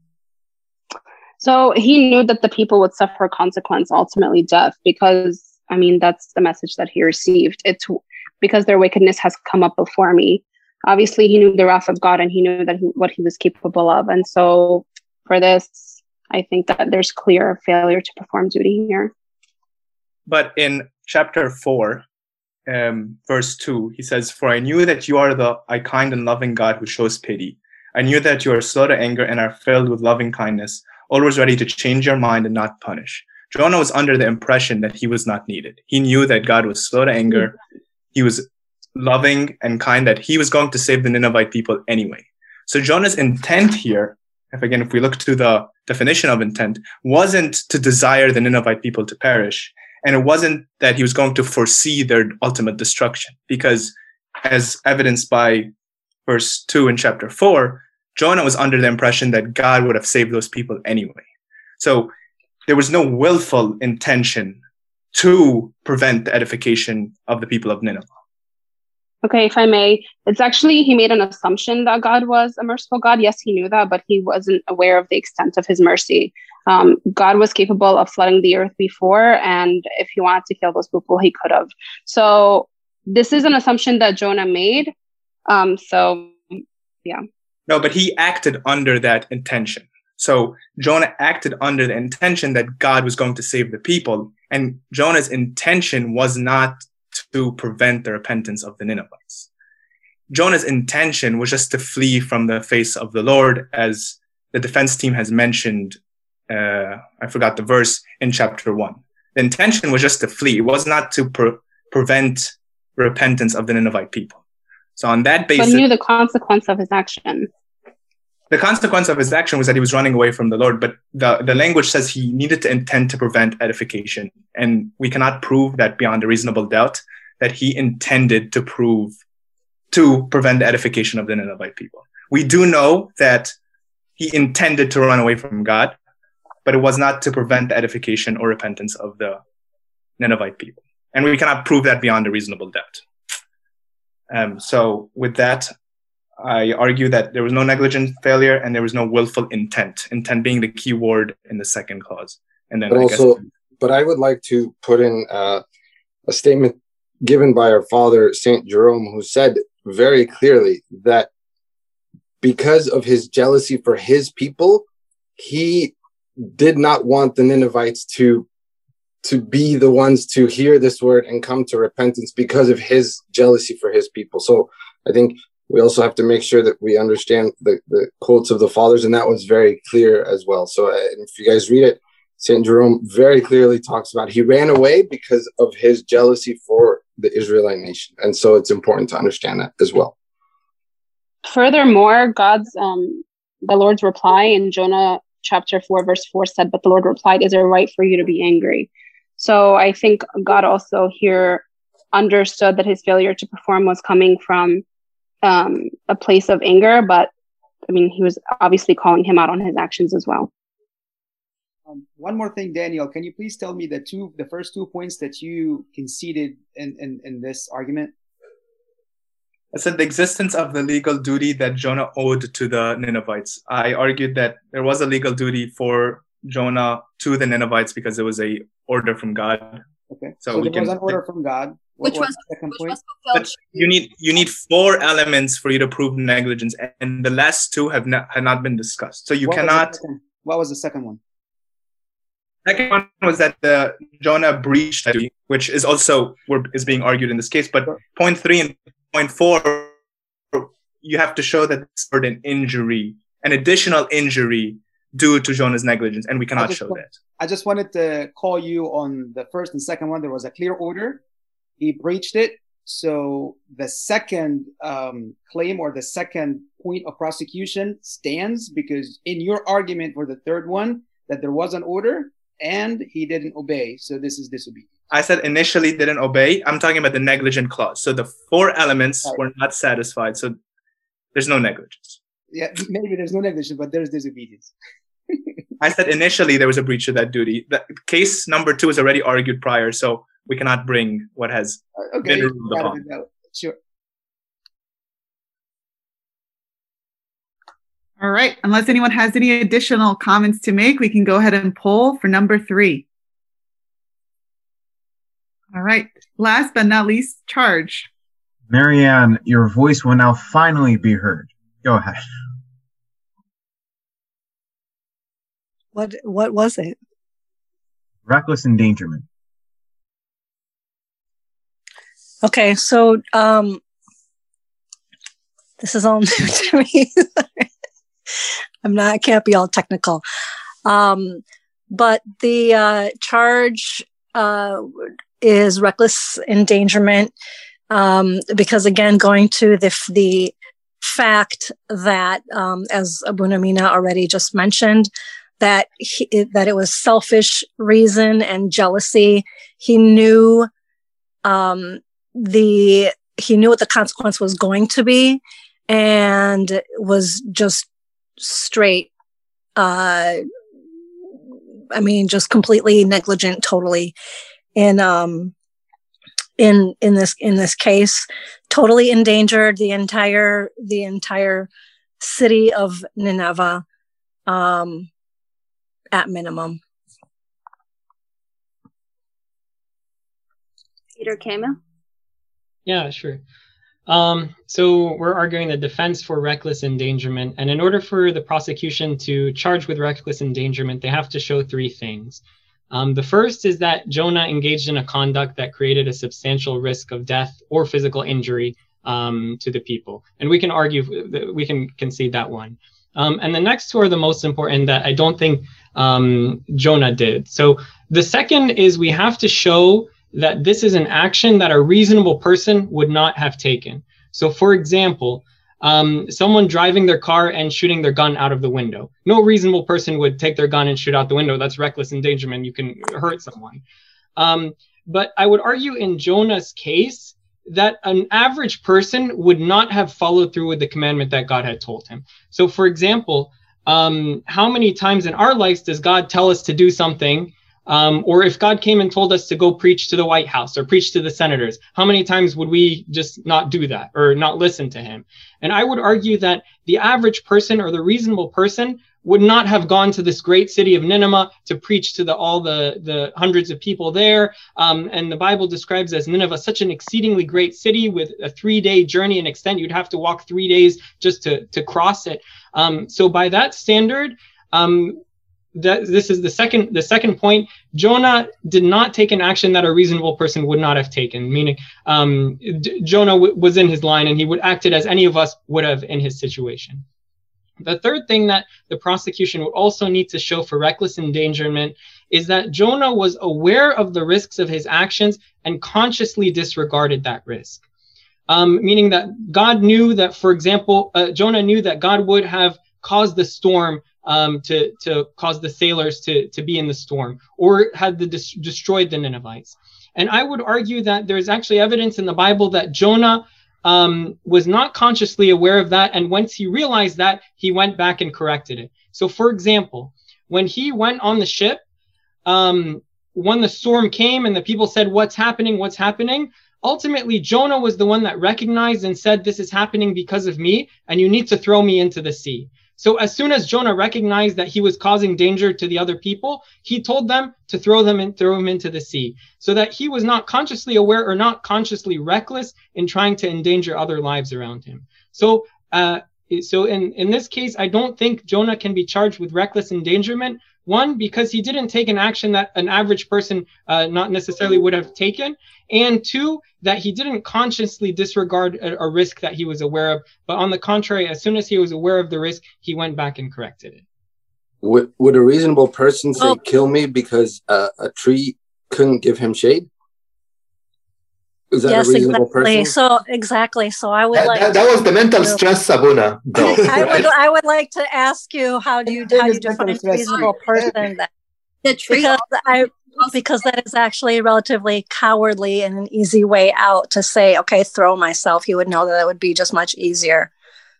So he knew that the people would suffer consequence, ultimately death, because, I mean, that's the message that he received. It's because their wickedness has come up before me. Obviously, he knew the wrath of God and he knew that he, what he was capable of. And so for this, I think that there's clear failure to perform duty here. But in chapter four, um, verse two, he says, "For I knew that you are the a kind and loving God who shows pity. I knew that you are slow to anger and are filled with loving kindness, always ready to change your mind and not punish." Jonah was under the impression that he was not needed. He knew that God was slow to anger. He was loving and kind, that he was going to save the Ninevite people anyway. So Jonah's intent here, if again, if we look to the definition of intent, wasn't to desire the Ninevite people to perish. And it wasn't that he was going to foresee their ultimate destruction, because as evidenced by verse two in chapter four, Jonah was under the impression that God would have saved those people anyway. So there was no willful intention to prevent the edification of the people of Nineveh. Okay, if I may, it's actually, he made an assumption that God was a merciful God. Yes, he knew that, but he wasn't aware of the extent of his mercy. Um, God was capable of flooding the earth before, and if he wanted to kill those people, he could have. So this is an assumption that Jonah made. Um, so, yeah. No, but he acted under that intention. So Jonah acted under the intention that God was going to save the people, and Jonah's intention was not to prevent the repentance of the Ninevites. Jonah's intention was just to flee from the face of the Lord, as the defense team has mentioned. Uh, I forgot the verse in chapter one. The intention was just to flee. It was not to pre- prevent repentance of the Ninevite people. So on that basis, but he knew the consequence of his action. The consequence of his action was that he was running away from the Lord, but the, the language says he needed to intend to prevent edification. And we cannot prove that beyond a reasonable doubt that he intended to prove, to prevent the edification of the Ninevite people. We do know that he intended to run away from God, but it was not to prevent the edification or repentance of the Ninevite people. And we cannot prove that beyond a reasonable doubt. Um, so with that, I argue that there was no negligent failure and there was no willful intent, intent being the key word in the second clause. And then but I also, guess, but I would like to put in uh, a statement given by our father, Saint Jerome, who said very clearly that because of his jealousy for his people, he did not want the Ninevites to, to be the ones to hear this word and come to repentance because of his jealousy for his people. So I think we also have to make sure that we understand the, the quotes of the fathers, and that was very clear as well. So uh, if you guys read it, Saint Jerome very clearly talks about he ran away because of his jealousy for the Israelite nation. And so it's important to understand that as well. Furthermore, God's, um, the Lord's reply in Jonah chapter four, verse four said, "But the Lord replied, is it right for you to be angry?" So I think God also here understood that his failure to perform was coming from um, a place of anger, but I mean, he was obviously calling him out on his actions as well. Um, one more thing, Daniel, can you please tell me the two, the first two points that you conceded in, in, in this argument? I said the existence of the legal duty that Jonah owed to the Ninevites. I argued that there was a legal duty for Jonah to the Ninevites because it was a order from God. Okay, so, so we there can, was an order from God. What Which was was, the second which point? was fulfilled. But you need you need four elements for you to prove negligence, and the last two have not had not been discussed. So you What was the cannot. second- What was the second one? Second one was that the Jonah breached that duty, which is also where is being argued in this case. But point three and point four, you have to show that it's an injury, an additional injury due to Jonah's negligence, and we cannot show want, that. I just wanted to call you on the first and second one. There was a clear order. He breached it. So the second um, claim or the second point of prosecution stands because in your argument for the third one, that there was an order and he didn't obey. So this is disobedience. I said initially didn't obey. I'm talking about the negligent clause. So the four elements right. were not satisfied. So there's no negligence. Yeah, maybe there's no negligence, but there's disobedience. I said initially there was a breach of that duty. The case number two is already argued prior, so we cannot bring what has okay. been ruled upon. Sure. All right. Unless anyone has any additional comments to make, we can go ahead and poll for number three. All right. Last but not least, charge. Marianne, your voice will now finally be heard. Go ahead. What what was it? Reckless endangerment. Okay, so um, this is all new to me. I'm not. I can't be all technical. Um, but the uh, charge uh, is reckless endangerment um, because, again, going to the the fact that, um, as Abu Namina already just mentioned, that he, that it was selfish reason and jealousy. He knew um, the he knew what the consequence was going to be, and was just straight. Uh, I mean, just completely negligent, totally in um in in this in this case. Totally endangered the entire the entire city of Nineveh. Um, at minimum. Peter Kamel? Yeah, sure. Um, so we're arguing the defense for reckless endangerment. And in order for the prosecution to charge with reckless endangerment, they have to show three things. Um, the first is that Jonah engaged in a conduct that created a substantial risk of death or physical injury um, to the people. And we can argue, we can concede that one. Um, and the next two are the most important that I don't think um, Jonah did. So the second is we have to show that this is an action that a reasonable person would not have taken. So for example, um, someone driving their car and shooting their gun out of the window. No reasonable person would take their gun and shoot out the window. That's reckless endangerment. You can hurt someone. Um, but I would argue in Jonah's case, that an average person would not have followed through with the commandment that God had told him. So for example, um, how many times in our lives does God tell us to do something? Um, or if God came and told us to go preach to the White House or preach to the senators, how many times would we just not do that or not listen to him? And I would argue that the average person or the reasonable person would not have gone to this great city of Nineveh to preach to the, all the, the hundreds of people there. Um, and the Bible describes as Nineveh such an exceedingly great city with a three-day journey in extent. You'd have to walk three days just to, to cross it. Um, so by that standard, um, that, this is the second, the second point. Jonah did not take an action that a reasonable person would not have taken, meaning um, D- Jonah w- was in his line and he would acted as any of us would have in his situation. The third thing that the prosecution would also need to show for reckless endangerment is that Jonah was aware of the risks of his actions and consciously disregarded that risk. Um, meaning that God knew that, for example, uh, Jonah knew that God would have caused the storm um, to, to cause the sailors to, to be in the storm, or had the dis- destroyed the Ninevites. And I would argue that there's actually evidence in the Bible that Jonah um, was not consciously aware of that. And once he realized that, he went back and corrected it. So for example, when he went on the ship, um, when the storm came and the people said, what's happening, what's happening? Ultimately, Jonah was the one that recognized and said, this is happening because of me, and you need to throw me into the sea. So as soon as Jonah recognized that he was causing danger to the other people, he told them to throw them and throw him into the sea, so that he was not consciously aware or not consciously reckless in trying to endanger other lives around him. So, uh, so in, in this case, I don't think Jonah can be charged with reckless endangerment One, because he didn't take an action that an average person uh, not necessarily would have taken. And two, that he didn't consciously disregard a, a risk that he was aware of. But on the contrary, as soon as he was aware of the risk, he went back and corrected it. Would, would a reasonable person say, Oh. kill me because uh, a tree couldn't give him shade? Is that Yes, a reasonable exactly. person? So exactly. So I would That, like that, that was the mental stress, Abuna, though. I would I would like to ask you how do you how do you define a reasonable person then? The tree Because I because that is actually relatively cowardly and an easy way out to say, okay, throw myself. He would know that it would be just much easier.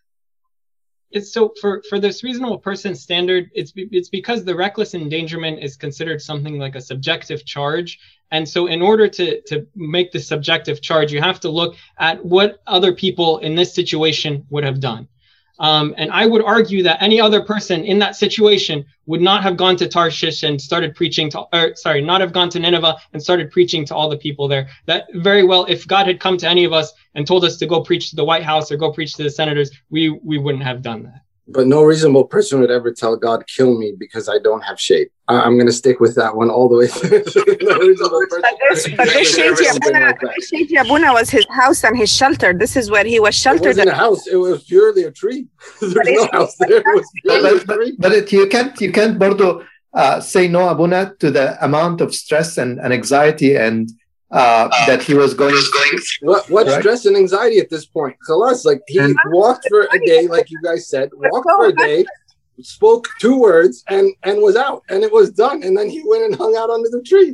It's so for, for this reasonable person standard, it's be, it's because the reckless endangerment is considered something like a subjective charge. And so in order to, to make the subjective charge, you have to look at what other people in this situation would have done. Um, and I would argue that any other person in that situation would not have gone to Tarshish and started preaching to, or sorry, not have gone to Nineveh and started preaching to all the people there. That very well, if God had come to any of us and told us to go preach to the White House or go preach to the senators, we, we wouldn't have done that. But no reasonable person would ever tell God, kill me because I don't have shade. I- I'm going to stick with that one all the way through. No reasonable person But this, but this would ever Sheikh say something Yabuna, like that. this Sheikh Yabuna was his house and his shelter. This is where he was It sheltered. wasn't a house. It was purely a tree. There's no house there. It was purely a But, but, tree. but it, you can't you can't bordo, uh, say no, Abuna, to the amount of stress and, and anxiety and uh, that he was going through. What what Right. stress and anxiety at this point? Khalas, like he walked for a day, like you guys said, walked for a day, spoke two words, and and was out, and it was done. And then he went and hung out under the tree.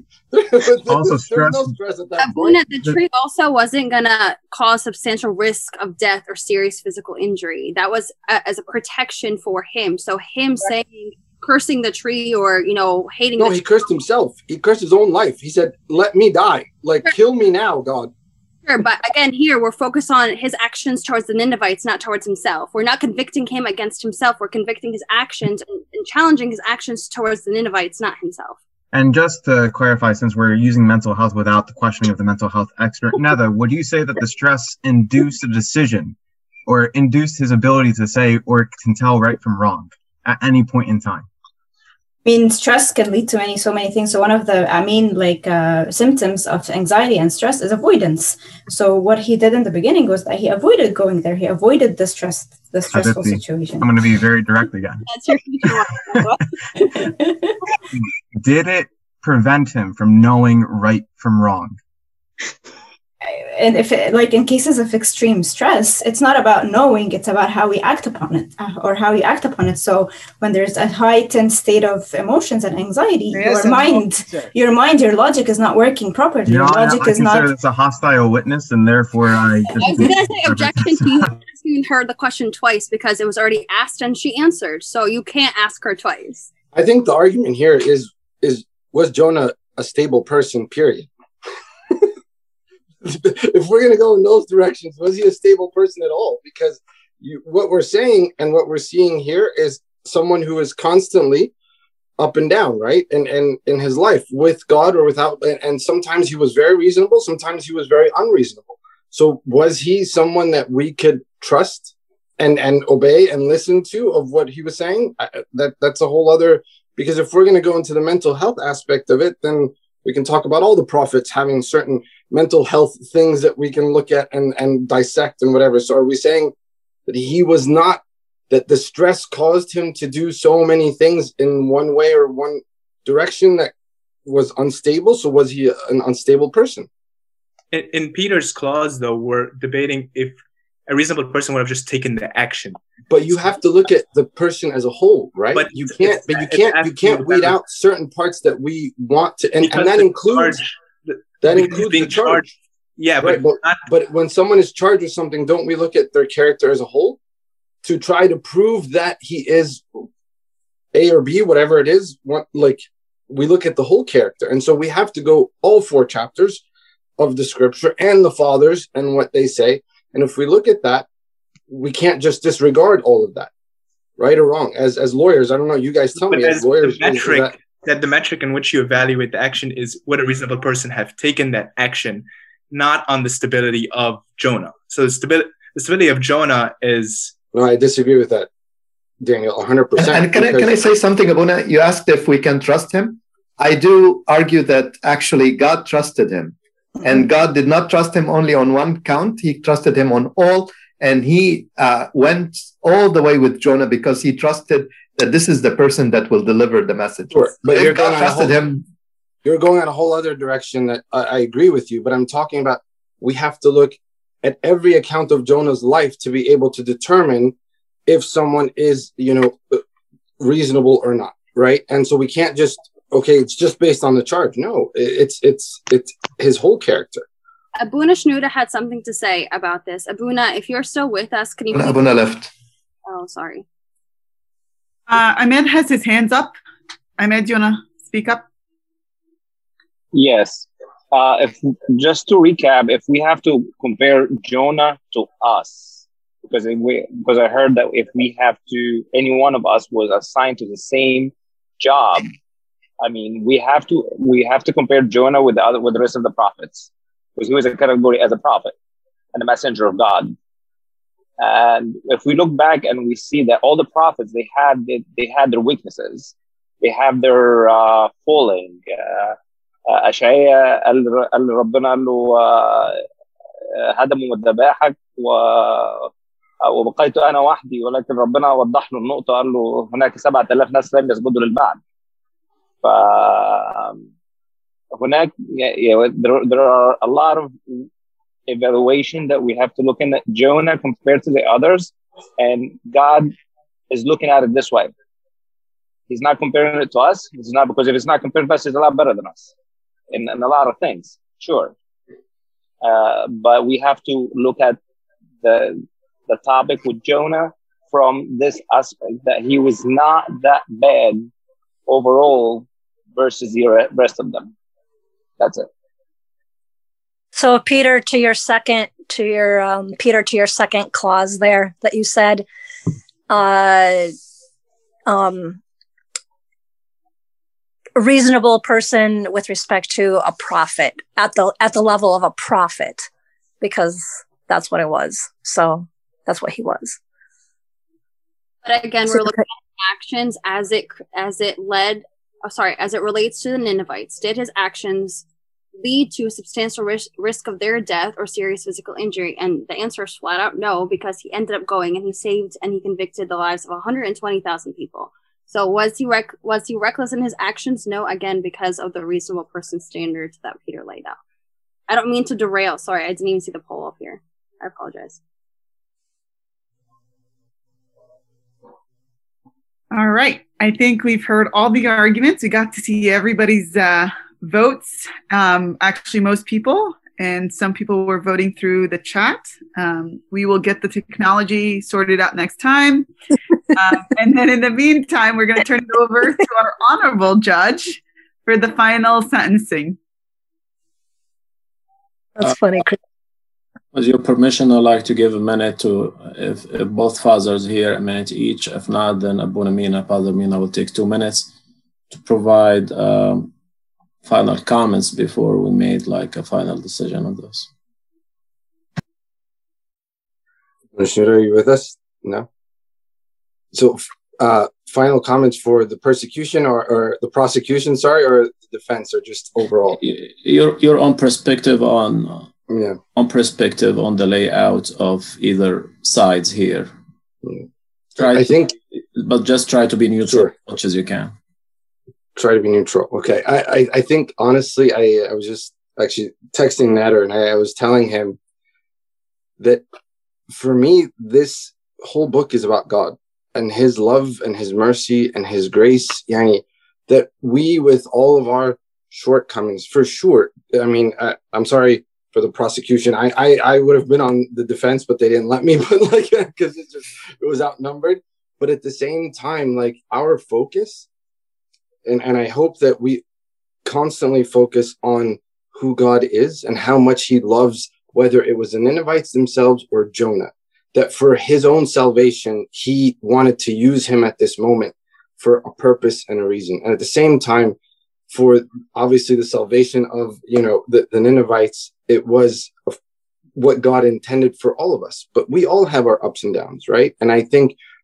Also there was no stress- stress at that Abuna, point. the tree also wasn't gonna cause substantial risk of death or serious physical injury. That was uh, as a protection for him. So him saying, cursing the tree or, you know, hating No, the he tree. cursed himself. He cursed his own life. He said, "Let me die. Like kill me now, God." Sure, but again, here we're focused on his actions towards the Ninevites, not towards himself. We're not convicting him against himself. We're convicting his actions and, and challenging his actions towards the Ninevites, not himself. And just to clarify, since we're using mental health without the questioning of the mental health expert, Netha, would you say that the stress induced a decision or induced his ability to say or can tell right from wrong at any point in time? I mean, stress can lead to many, so many things. So one of the, I mean, like uh, symptoms of anxiety and stress is avoidance. So what he did in the beginning was that he avoided going there. He avoided the stress, the stressful Hadithi. situation. I'm going to be very direct again. That's your future. Did it prevent him from knowing right from wrong? And if it, like in cases of extreme stress, it's not about knowing, it's about how we act upon it uh, or how you act upon it. So when there's a heightened state of emotions and anxiety, Yes, your and mind, sir. your mind, your logic is not working properly. You know, Your I, I logic is consider not. this a hostile witness, and therefore I just... I was going to say objection to you asking her the question twice because it was already asked and she answered. So you can't ask her twice. I think the argument here is is was Jonah a stable person? Period. If we're going to go in those directions, was he a stable person at all? Because you, what we're saying and what we're seeing here is someone who is constantly up and down, right? And and in his life with God or without, and, and sometimes he was very reasonable, sometimes he was very unreasonable. So was he someone that we could trust and and obey and listen to of what he was saying? I, that that's a whole other, because if we're going to go into the mental health aspect of it, then we can talk about all the prophets having certain mental health things that we can look at and, and dissect and whatever. So are we saying that he was not, that the stress caused him to do so many things in one way or one direction that was unstable? So was he an unstable person? In, in Peter's clause, though, we're debating if a reasonable person would have just taken the action. But you have to look at the person as a whole, right? But you can't, but you it's can't, you asking can't you weed that- out certain parts that we want to, and, Because and that the includes charge- the- that because includes being the charge. charged- Yeah, Right, but but, but when someone is charged with something, don't we look at their character as a whole to try to prove that he is A or B, whatever it is? What, like, we look at the whole character. And so we have to go all four chapters of the scripture and the fathers and what they say. And if we look at that, we can't just disregard all of that, right or wrong. As as lawyers, I don't know, you guys tell But me, as as lawyers, the is- is metric that- that the metric in which you evaluate the action is would a reasonable person have taken that action, not on the stability of Jonah. So the stability the stability of Jonah is no, I disagree with that. Daniel, one hundred percent. And, and can, I, can I say something, Abuna? You asked if we can trust him. I do argue that actually God trusted him. Mm-hmm. And God did not trust him only on one count. He trusted him on all. And he uh, went all the way with Jonah because he trusted that this is the person that will deliver the message. Sure. But if you're God going trusted whole, him. You're going in a whole other direction that I, I agree with you. But I'm talking about we have to look at every account of Jonah's life to be able to determine if someone is, you know, reasonable or not, right? And so we can't just, okay, it's just based on the charge. No, it's it's it's his whole character. Abuna Shnuda had something to say about this. Abuna, if you're still with us, can you please... Abuna left. Oh, sorry. Uh, Ahmed has his hands up. Ahmed, do you want to speak up? Yes. Uh, if just to recap, if we have to compare Jonah to us, because if we, because I heard that if we have to, any one of us was assigned to the same job, I mean, we have to we have to compare Jonah with the other with the rest of the prophets, because he was a category as a prophet and a messenger of God. And if we look back and we see that all the prophets they had they, they had their weaknesses, they have their uh, falling. Uh, أشعياء قال ربنا قال له هدموا مذباحك وبقيت أنا وحدي، ولكن ربنا وضح له النقطة قال له هناك سبعة آلاف ناس لم يسجدوا للبعل. فهناك there, there are a lot of evaluation that we have to look in at Jonah compared to the others, and God is looking at it this way. He's not comparing it to us. It's not because if it's not compared to us, he's a lot better than us. In, in a lot of things, sure. Uh, but we have to look at the the topic with Jonah from this aspect, that he was not that bad overall versus the rest of them. That's it. So Peter, to your second, to your um, Peter, to your second clause there that you said, uh, um. a reasonable person with respect to a prophet at the at the level of a prophet, because that's what it was. So that's what he was. But again, we're looking at actions as it as it led. Oh, sorry, as it relates to the Ninevites. Did his actions lead to a substantial risk, risk of their death or serious physical injury? And the answer is flat out no, because he ended up going and he saved and he convicted the lives of one hundred twenty thousand people. So was he rec- was he reckless in his actions? No, again, because of the reasonable person standards that Peter laid out. I don't mean to derail. Sorry, I didn't even see the poll up here. I apologize. All right. I think we've heard all the arguments. We got to see everybody's uh, votes. Um, actually, most people. And some people were voting through the chat. Um, we will get the technology sorted out next time. um, and then in the meantime, we're going to turn it over to our honorable judge for the final sentencing. That's funny. With your permission, I'd like to give a minute to, if, if both fathers here, a minute each. If not, then Abuna Mina, Father Mina will take two minutes to provide um, final comments before we made like a final decision on this. Commissioner, are you with us? No. So, uh, final comments for the persecution or, or the prosecution, sorry, or the defense, or just overall? Your your own perspective on uh, yeah, on perspective on the layout of either sides here. Yeah. Try I to, think, but just try to be neutral sure. as much as you can. Try to be neutral. Okay. I, I, I think, honestly, I, I was just actually texting Nader, and I, I was telling him that for me, this whole book is about God and his love and his mercy and his grace. Yani, that we, with all of our shortcomings, for sure, I mean, I, I'm sorry for the prosecution. I, I, I would have been on the defense, but they didn't let me, but like, because it just, it was outnumbered. But at the same time, like, our focus, And, and I hope that we constantly focus on who God is and how much he loves, whether it was the Ninevites themselves or Jonah, that for his own salvation, he wanted to use him at this moment for a purpose and a reason. And at the same time, for obviously the salvation of, you know, the, the Ninevites, it was what God intended for all of us. But we all have our ups and downs, right? And I think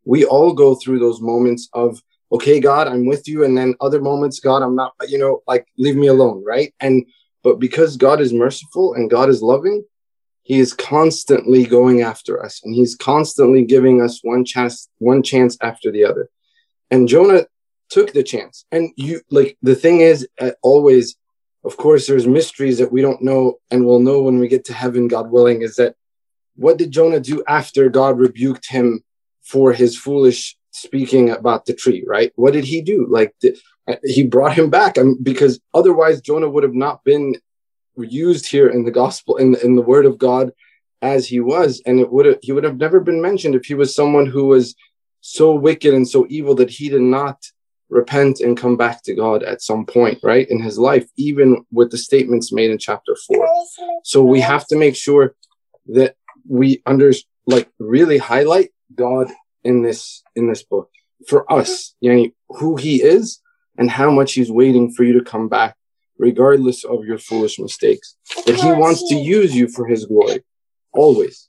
we all go through those moments of, okay, God, I'm with you. And then other moments, God, I'm not, you know, like, leave me alone, right? And, but because God is merciful and God is loving, he is constantly going after us, and he's constantly giving us one chance, one chance after the other. And Jonah took the chance. And you, like, the thing is, uh, always, of course, there's mysteries that we don't know, and we'll know when we get to heaven, God willing, is that what did Jonah do after God rebuked him for his foolish speaking about the tree, right? What did he do? Like, the, he brought him back, I mean, because otherwise Jonah would have not been used here in the gospel, in, in the word of God as he was. And it would have, he would have never been mentioned if he was someone who was so wicked and so evil that he did not repent and come back to God at some point, right, in his life, even with the statements made in chapter four. So we have to make sure that we under, like, really highlight God in this, in this book for us, yani, who he is and how much he's waiting for you to come back, regardless of your foolish mistakes, that he wants to use you for his glory, always.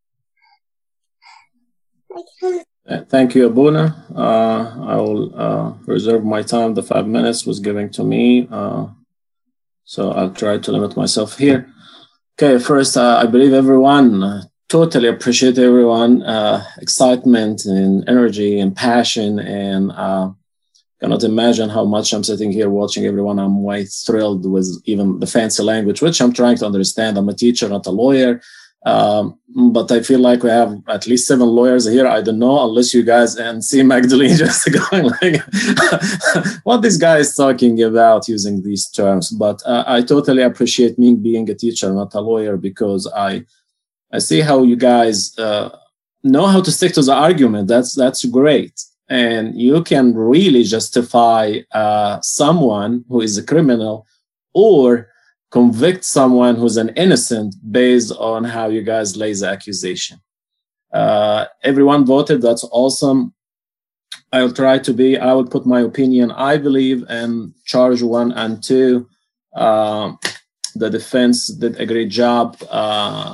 Thank you, Abuna. Uh, I will uh, reserve my time. The five minutes was given to me, uh, so I'll try to limit myself here. Okay, first, uh, I believe everyone, uh, totally appreciate everyone, uh, excitement and energy and passion, and uh, cannot imagine how much I'm sitting here watching everyone. I'm quite thrilled with even the fancy language, which I'm trying to understand. I'm a teacher, not a lawyer. Um, but I feel like we have at least seven lawyers here. I don't know, unless you guys and see Magdalene just going like, what this guy is talking about using these terms. But uh, I totally appreciate me being a teacher, not a lawyer, because I, I see how you guys uh, know how to stick to the argument. That's, that's great. And you can really justify uh, someone who is a criminal or convict someone who's an innocent based on how you guys lay the accusation. Uh, everyone voted. That's awesome. I'll try to be, I will put my opinion. I believe in charge one and two. Uh, the defense did a great job. Uh,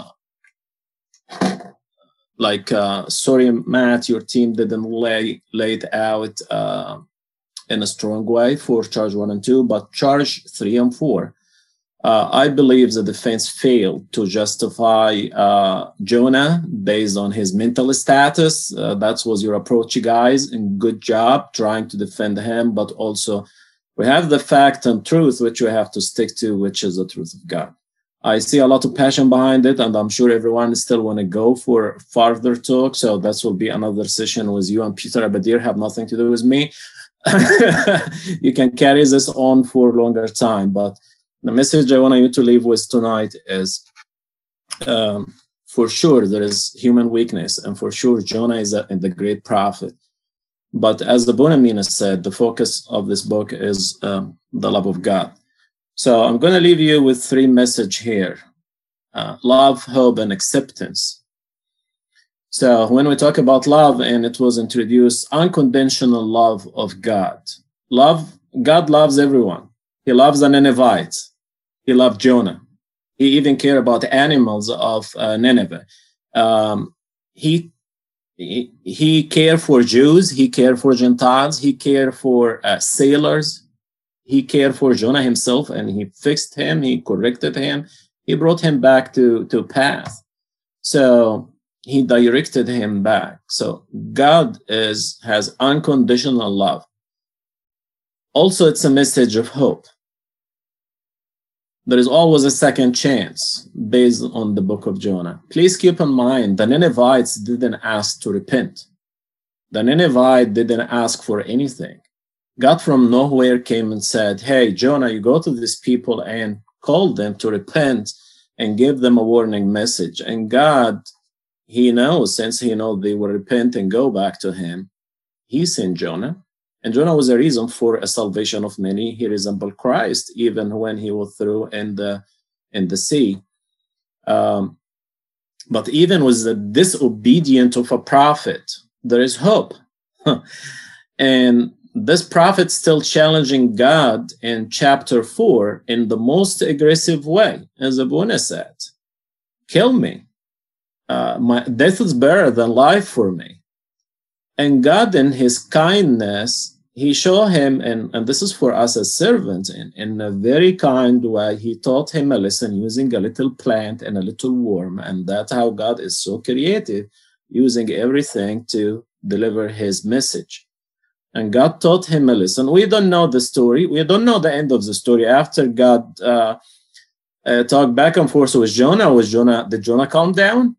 Like, uh, sorry, Matt, your team didn't lay, lay it out uh, in a strong way for charge one and two, but charge three and four. Uh, I believe the defense failed to justify uh, Jonah based on his mental status. Uh, that was your approach, you guys, and good job trying to defend him, but also we have the fact and truth, which we have to stick to, which is the truth of God. I see a lot of passion behind it, and I'm sure everyone still want to go for further talk. So that will be another session with you and Peter Abadir, have nothing to do with me. You can carry this on for a longer time. But the message I want you to leave with tonight is, um, for sure, there is human weakness, and for sure, Jonah is a, the great prophet. But as the Bonamina said, the focus of this book is um, the love of God. So I'm going to leave you with three messages here. Uh, love, hope, and acceptance. So when we talk about love, and it was introduced, unconditional love of God. Love, God loves everyone. He loves the Ninevites. He loved Jonah. He even cared about the animals of uh, Nineveh. Um, he, he, he cared for Jews. He cared for Gentiles. He cared for uh, sailors. He cared for Jonah himself, and he fixed him, he corrected him, he brought him back to, to path. So he directed him back. So God is has unconditional love. Also, it's a message of hope. There is always a second chance based on the book of Jonah. Please keep in mind, the Ninevites didn't ask to repent. The Ninevites didn't ask for anything. God from nowhere came and said, hey, Jonah, you go to these people and call them to repent and give them a warning message. And God, he knows, since he knows they will repent and go back to him, he sent Jonah. And Jonah was a reason for a salvation of many. He resembled Christ, even when he was through in the, in the sea. Um, but even with the disobedience of a prophet, there is hope. And this prophet still challenging God in chapter four in the most aggressive way, as Abuna said. Kill me. Uh, my death is better than life for me. And God, in his kindness, he showed him, and, and this is for us as servants, in, in a very kind way, he taught him a lesson using a little plant and a little worm. And that's how God is so creative, using everything to deliver his message. And God taught him a lesson. We don't know the story. We don't know the end of the story. After God uh, uh, talked back and forth with Jonah, was Jonah, did Jonah calm down?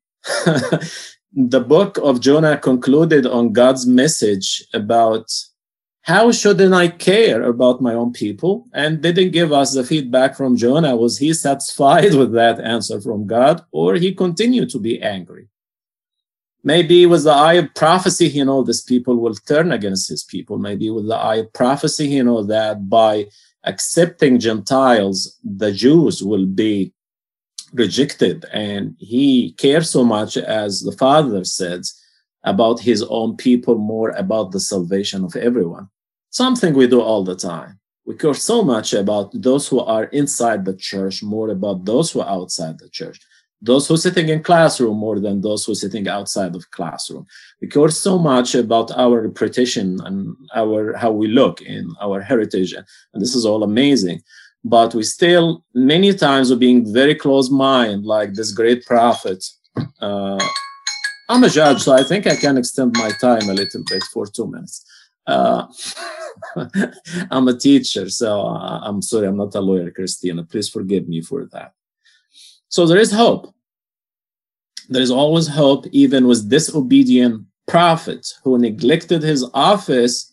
The book of Jonah concluded on God's message about how shouldn't I care about my own people, and didn't give us the feedback from Jonah. Was he satisfied with that answer from God, or he continued to be angry? Maybe with the eye of prophecy, he knows these people will turn against his people. Maybe with the eye of prophecy, he knows that by accepting Gentiles, the Jews will be rejected. And he cares so much, as the Father says, about his own people, more about the salvation of everyone. Something we do all the time. We care so much about those who are inside the church, more about those who are outside the church. Those who are sitting in classroom more than those who are sitting outside of classroom. We care so much about our reputation and our how we look in our heritage. And this is all amazing. But we still, many times, are being very close-minded, like this great prophet. Uh, I'm a judge, so I think I can extend my time a little bit for two minutes. Uh, I'm a teacher, so I'm sorry, I'm not a lawyer, Christina. Please forgive me for that. So there is hope. There is always hope, even with disobedient prophets who neglected his office,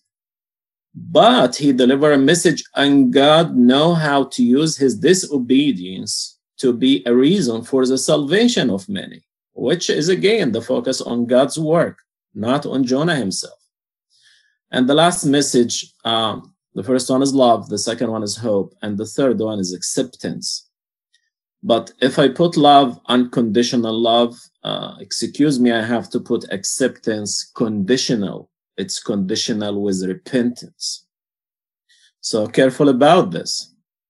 but he delivered a message, and God knows how to use his disobedience to be a reason for the salvation of many, which is, again, the focus on God's work, not on Jonah himself. And the last message, um, the first one is love, the second one is hope, and the third one is acceptance. But if I put love, unconditional love, uh, excuse me, I have to put acceptance conditional. It's conditional with repentance. So careful about this.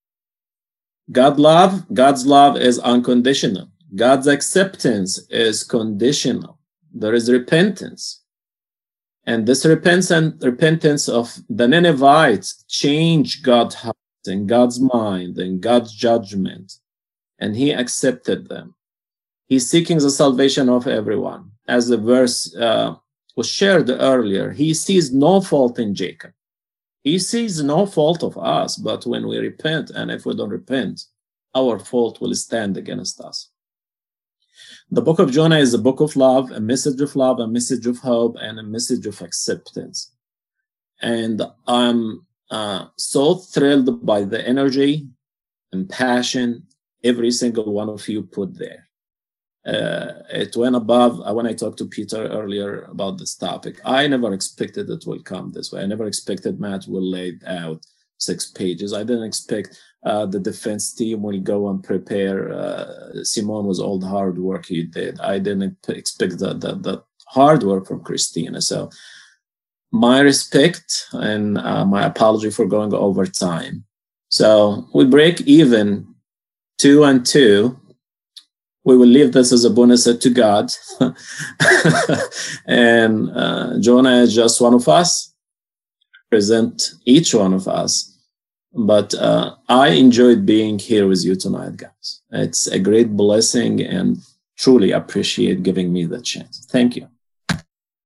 God love, God's love is unconditional. God's acceptance is conditional. There is repentance. And this repentance, repentance of the Ninevites changed God's heart and God's mind and God's judgment. And he accepted them. He's seeking the salvation of everyone. As the verse uh, was shared earlier, he sees no fault in Jacob. He sees no fault of us, but when we repent, and if we don't repent, our fault will stand against us. The book of Jonah is a book of love, a message of love, a message of hope, and a message of acceptance. And I'm uh, so thrilled by the energy and passion every single one of you put there. Uh, it went above, uh, when I talked to Peter earlier about this topic, I never expected it will come this way. I never expected Matt will lay out six pages. I didn't expect uh, the defense team will go and prepare uh, Simon with all the hard work he did. I didn't expect the, the, the hard work from Christina. So my respect and uh, my apology for going over time. So we break even two and two. We will leave this as a bonus to God. And uh, Jonah is just one of us. Present each one of us. But uh, I enjoyed being here with you tonight, guys. It's a great blessing, and truly appreciate giving me the chance. Thank you.